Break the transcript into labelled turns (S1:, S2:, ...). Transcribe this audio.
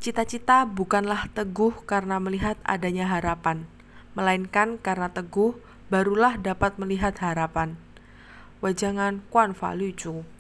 S1: Cita-cita bukanlah teguh karena melihat adanya harapan, melainkan karena teguh barulah dapat melihat harapan. Wejangan Quan Fa Lu Zhu.